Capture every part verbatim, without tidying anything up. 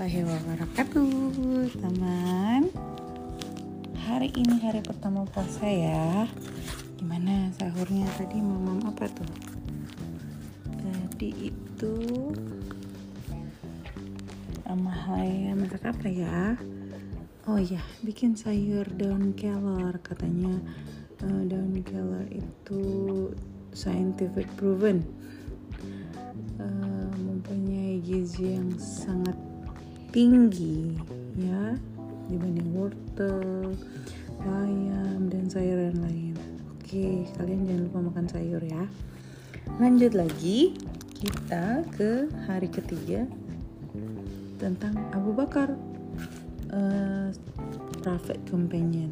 warahmatullahi wabarakatuh, teman. Hari ini hari pertama puasa ya. Gimana sahurnya tadi, mamam apa tuh? Tadi itu Amahaya masak apa ya? Oh ya, bikin sayur daun kelor. Katanya uh, daun kelor itu scientific proven uh, mempunyai gizi yang sangat tinggi ya dibanding wortel, bayam dan sayuran lain. Oke, kalian jangan lupa makan sayur ya. Lanjut lagi, kita ke hari ketiga tentang Abu Bakar, uh, Prophet Companion.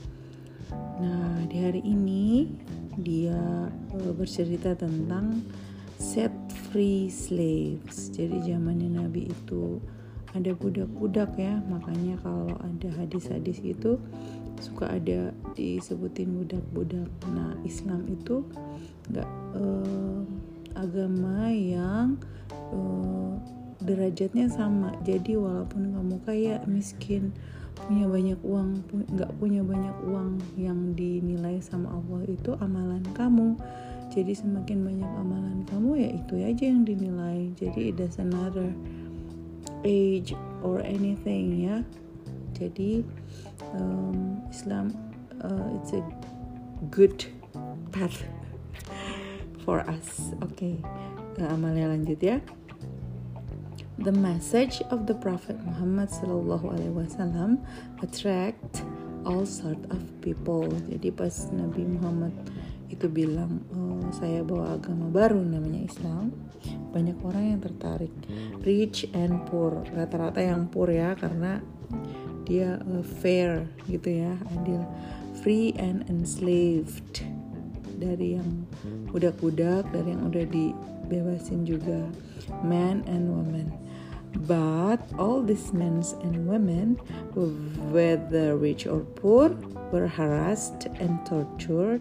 Nah, di hari ini dia uh, bercerita tentang set free slaves. Jadi zamannya Nabi itu ada budak-budak ya, makanya kalau ada hadis-hadis itu suka ada disebutin budak-budak. Nah, Islam itu nggak uh, agama yang uh, derajatnya sama. Jadi walaupun kamu kaya, miskin, punya banyak uang, nggak punya banyak uang, yang dinilai sama Allah itu amalan kamu. Jadi semakin banyak amalan kamu, ya itu aja yang dinilai. Jadi it doesn't matter age or anything ya. Jadi um, Islam uh, it's a good path for us. Oke, okay. Amalnya lanjut ya. The message of the Prophet Muhammad sallallahu alaihi wasallam attract all sort of people. Jadi pas Nabi Muhammad itu bilang, oh, saya bawa agama baru namanya Islam, banyak orang yang tertarik. Rich and poor, rata-rata yang poor ya, karena dia uh, fair gitu ya, adil. Free and enslaved, dari yang budak-budak, dari yang udah dibebasin juga. Men and women. But all these men and women, whether rich or poor, were harassed and tortured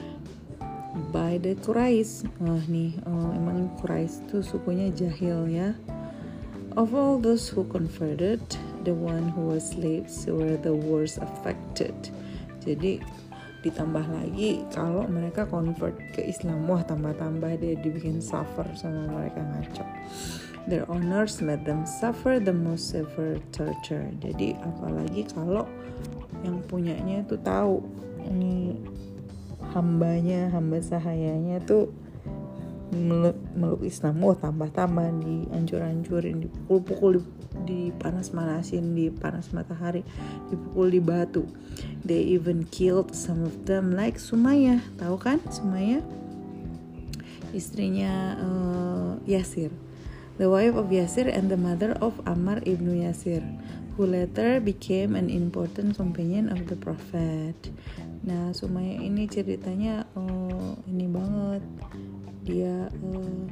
by the Quraish. Wah nih, oh, emang Quraish tuh sukunya jahil ya. Of all those who converted, the one who was slaves were the worst affected. Jadi ditambah lagi kalau mereka convert ke Islam, wah tambah-tambah dia dibikin suffer sama mereka, ngaco. Their owners made them suffer the most severe torture. Jadi apalagi kalau yang punyanya tuh tahu ini hambanya, hamba sahayanya tuh meluk, meluk Islam, wah tambah-tambah dihancur-hancurin, dipukul-pukul, dipanas-manasin, dipanas matahari, dipukul di batu. They even killed some of them like Sumayyah. Tahu kan Sumayyah? Istrinya uh, Yasir, the wife of Yasir and the mother of Ammar ibnu Yasir, who later became an important companion of the Prophet. Nah, Sumayyah ini ceritanya uh, ini banget. Dia uh,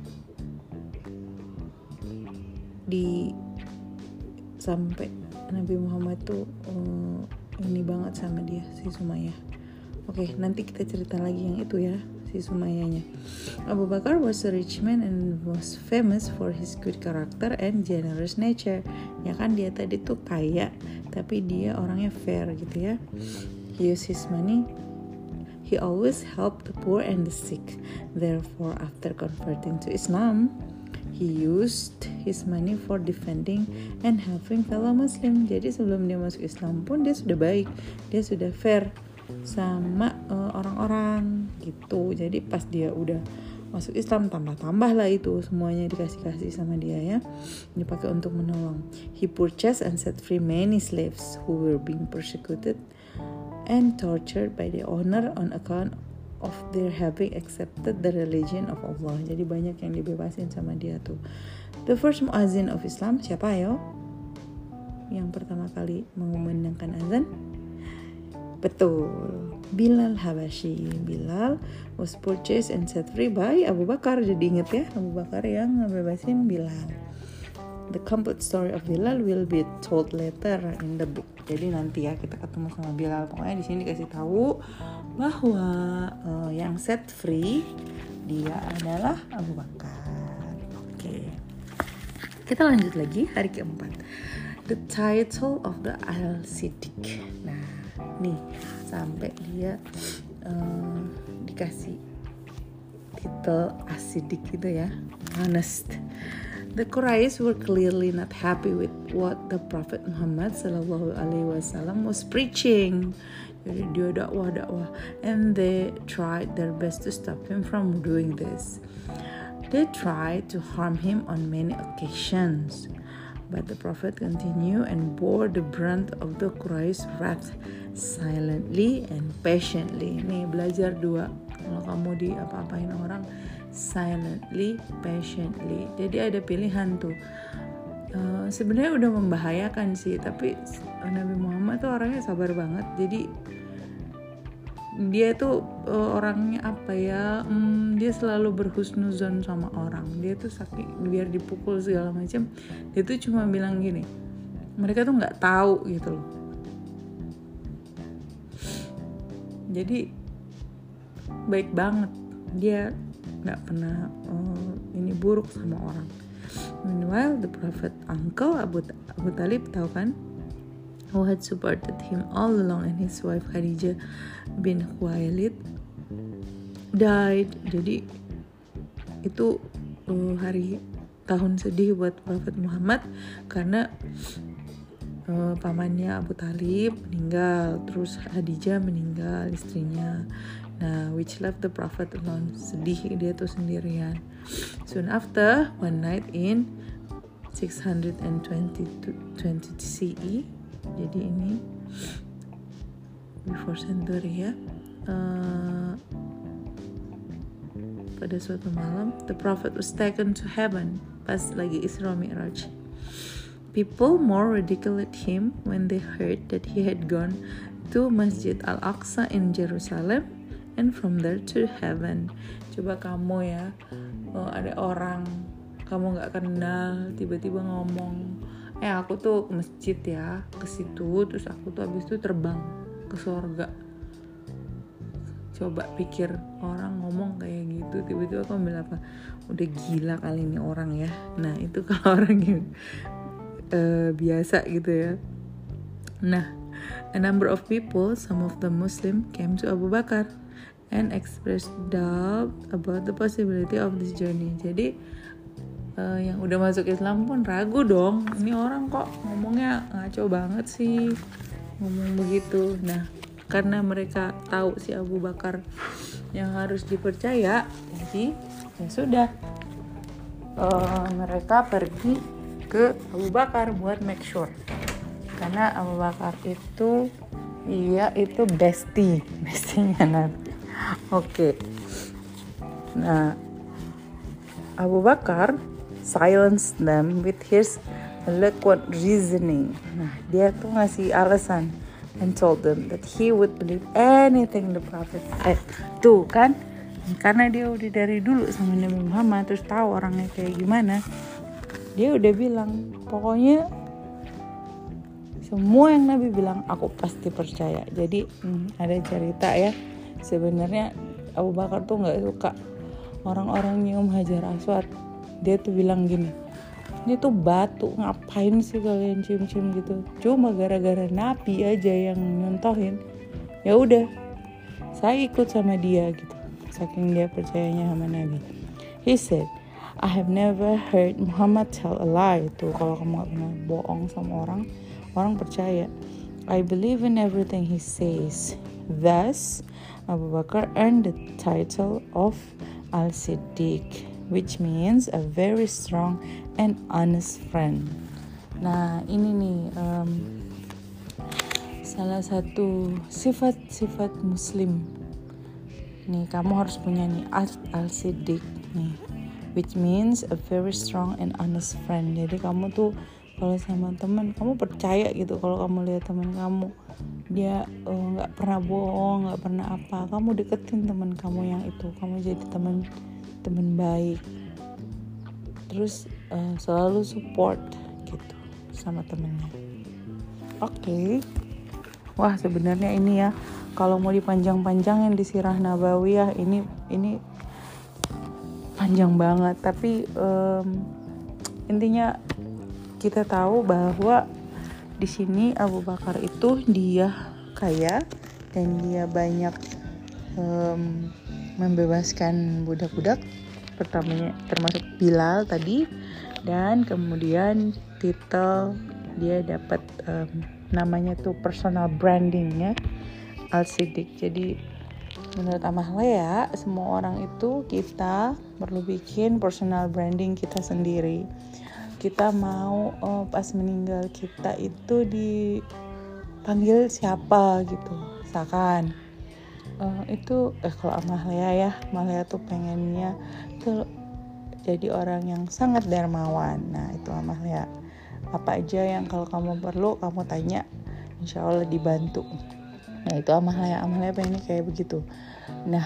di sampai Nabi Muhammad tuh uh, ini banget sama dia, si Sumayyah. Oke, nanti kita cerita lagi yang itu ya, si Sumayyahnya. Abu Bakar was a rich man and was famous for his good character and generous nature. Ya kan, dia tadi tuh kaya, tapi dia orangnya fair gitu ya. He used his money. He always helped the poor and the sick. Therefore, after converting to Islam, he used his money for defending and helping fellow Muslim. Jadi sebelum dia masuk Islam pun dia sudah baik, dia sudah fair sama uh, orang-orang gitu. Jadi pas dia udah masuk Islam, tambah-tambah lah itu semuanya dikasih-kasih sama dia ya, dipakai untuk menolong. He purchased and set free many slaves who were being persecuted and tortured by the owner on account of their having accepted the religion of Allah. Jadi banyak yang dibebasin sama dia tuh. The first muazzin of Islam siapa ayo? Yang pertama kali mengumandangkan azan? Betul, Bilal Habashi. Bilal was purchased and set free by Abu Bakar. Jadi inget ya, Abu Bakar yang ngebebasin Bilal. The complete story of Bilal will be told later in the book. Jadi nanti ya kita ketemu sama Bilal. Pokoknya di sini dikasih tahu bahwa uh, yang set free dia adalah Abu Bakar. Oke. Kita lanjut lagi hari keempat. the title of the Al-Siddiq. Nah, nih sampai dia uh, dikasih titel As-Siddiq gitu ya, honest. The Quraysh were clearly not happy with what the Prophet Muhammad sallallahu alaihi wasallam was preaching. Jadi dia dakwah-dakwah, and they tried their best to stop him from doing this. They tried to harm him on many occasions, but the Prophet continued and bore the brunt of the Quraysh wrath silently and patiently. Nih belajar dua, kalau kamu di apa-apain orang, silently, patiently. Jadi ada pilihan tuh. Uh, sebenarnya udah membahayakan sih, tapi Nabi Muhammad tuh orangnya sabar banget. Jadi dia tuh uh, orangnya apa ya? Hmm, dia selalu berhusnuzon sama orang. Dia tuh saking biar dipukul segala macam, dia tuh cuma bilang gini, mereka tuh nggak tahu gitu loh. Jadi baik banget, dia nggak pernah uh, ini buruk sama orang. Meanwhile, the Prophet uncle Abu Abu Talib, tahu kan, who had supported him all along, and his wife Khadijah bin Khuwailid died. Jadi itu uh, hari tahun sedih buat Prophet Muhammad karena uh, pamannya Abu Talib meninggal, terus Khadijah meninggal istrinya. Nah, which left the Prophet alone. Sedih dia tuh sendirian. Soon after, one night in six hundred twenty C E, jadi ini before century ya, uh, pada suatu malam, the Prophet was taken to heaven pas lagi Isra Mi'raj. People more ridiculed him when they heard that he had gone to Masjid Al-Aqsa in Jerusalem and from there to heaven. Coba kamu ya, oh, ada orang kamu nggak kenal tiba-tiba ngomong, eh aku tuh ke masjid ya, ke situ, terus aku tuh habis itu terbang ke surga. Coba pikir orang ngomong kayak gitu, tiba-tiba kamu bilang apa? Udah gila kali ini orang ya. Nah itu kalau orang yang uh, biasa gitu ya. Nah, a number of people, some of the Muslim, came to Abu Bakar and expressed doubt about the possibility of this journey. Jadi uh, yang udah masuk Islam pun ragu dong, ini orang kok ngomongnya ngaco banget sih, ngomong begitu. Nah, karena mereka tahu si Abu Bakar yang harus dipercaya, jadi ya sudah, uh, mereka pergi ke Abu Bakar buat make sure. Karena Abu Bakar itu, iya itu bestie, bestinya Nabi. Oke, okay. Nah Abu Bakar silenced them with his eloquent reasoning. Nah dia tuh ngasih alasan and told them that he would believe anything the Prophet said. Tuh kan, karena dia udah dari dulu sama Nabi Muhammad, terus tahu orangnya kayak gimana, dia udah bilang pokoknya semua yang Nabi bilang aku pasti percaya. Jadi hmm, ada cerita ya, sebenarnya Abu Bakar tuh nggak suka orang-orang nyium Hajar Aswad. Dia tuh bilang gini, ini tuh batu, ngapain sih kalian cium-cium gitu? Cuma gara-gara Nabi aja yang nyontohin, ya udah saya ikut sama dia gitu, saking dia percayanya sama Nabi. He said, I have never heard Muhammad tell a lie. Tuh kalau kamu nggak pernah bohong sama orang, orang percaya. I believe in everything he says. Thus, Abu Bakar earned the title of Al-Siddiq, which means a very strong and honest friend. Nah, ini nih um, salah satu sifat-sifat Muslim. Nih, kamu harus punya nih Al-Siddiq nih, which means a very strong and honest friend. Jadi kamu tuh kalau sama teman, kamu percaya gitu kalau kamu lihat teman kamu dia nggak uh, pernah bohong, nggak pernah apa, kamu deketin teman kamu yang itu, kamu jadi teman teman baik, terus uh, selalu support gitu sama temennya. Oke, okay. Wah sebenarnya ini ya, kalau mau dipanjang-panjangin di Sirah Nabawiyah ini ini panjang banget, tapi um, intinya kita tahu bahwa di sini Abu Bakar itu dia kaya dan dia banyak um, membebaskan budak-budak, pertamanya termasuk Bilal tadi, dan kemudian titel dia dapat um, namanya tuh personal branding ya, Al-Siddiq. Jadi menurut Amalia, semua orang itu kita perlu bikin personal branding kita sendiri. Kita mau oh, pas meninggal kita itu dipanggil siapa gitu, misalkan uh, itu eh kalau Amalia ya, Amalia tuh pengennya tuh jadi orang yang sangat dermawan. Nah itu Amalia, apa aja yang kalau kamu perlu kamu tanya, insya Allah dibantu. Nah itu Amalia, Amalia pengennya kayak begitu. Nah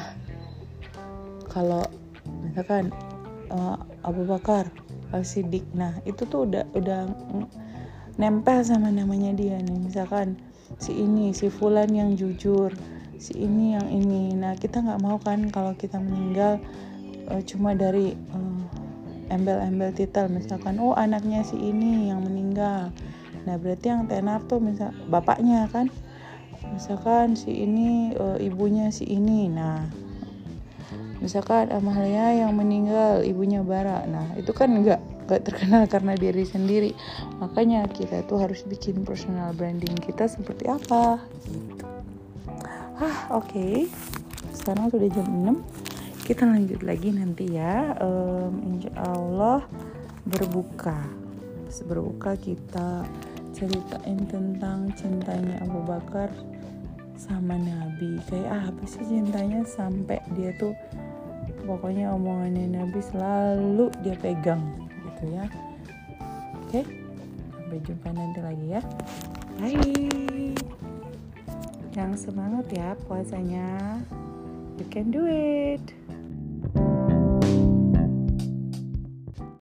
kalau misalkan uh, Abu Bakar Al-Siddiq, nah itu tuh udah udah nempel sama namanya dia nih. Misalkan si ini, si Fulan yang jujur, si ini yang ini. Nah kita nggak mau kan kalau kita meninggal uh, cuma dari uh, embel-embel titel, misalkan oh anaknya si ini yang meninggal. Nah berarti yang tenar tuh misal bapaknya kan, misalkan si ini uh, ibunya si ini. Nah misalkan Amalia yang meninggal ibunya Bara, nah itu kan enggak enggak terkenal karena diri sendiri. Makanya kita tuh harus bikin personal branding kita seperti apa gitu. Ah oke okay. Sekarang sudah jam enam, kita lanjut lagi nanti ya. um, Insya Allah berbuka berbuka kita ceritain tentang cintanya Abu Bakar sama Nabi. Kayak apa sih cintanya sampai dia tuh pokoknya omongannya Nabi selalu dia pegang gitu ya. Oke, sampai jumpa nanti lagi ya. Bye. Yang semangat ya puasanya, you can do it.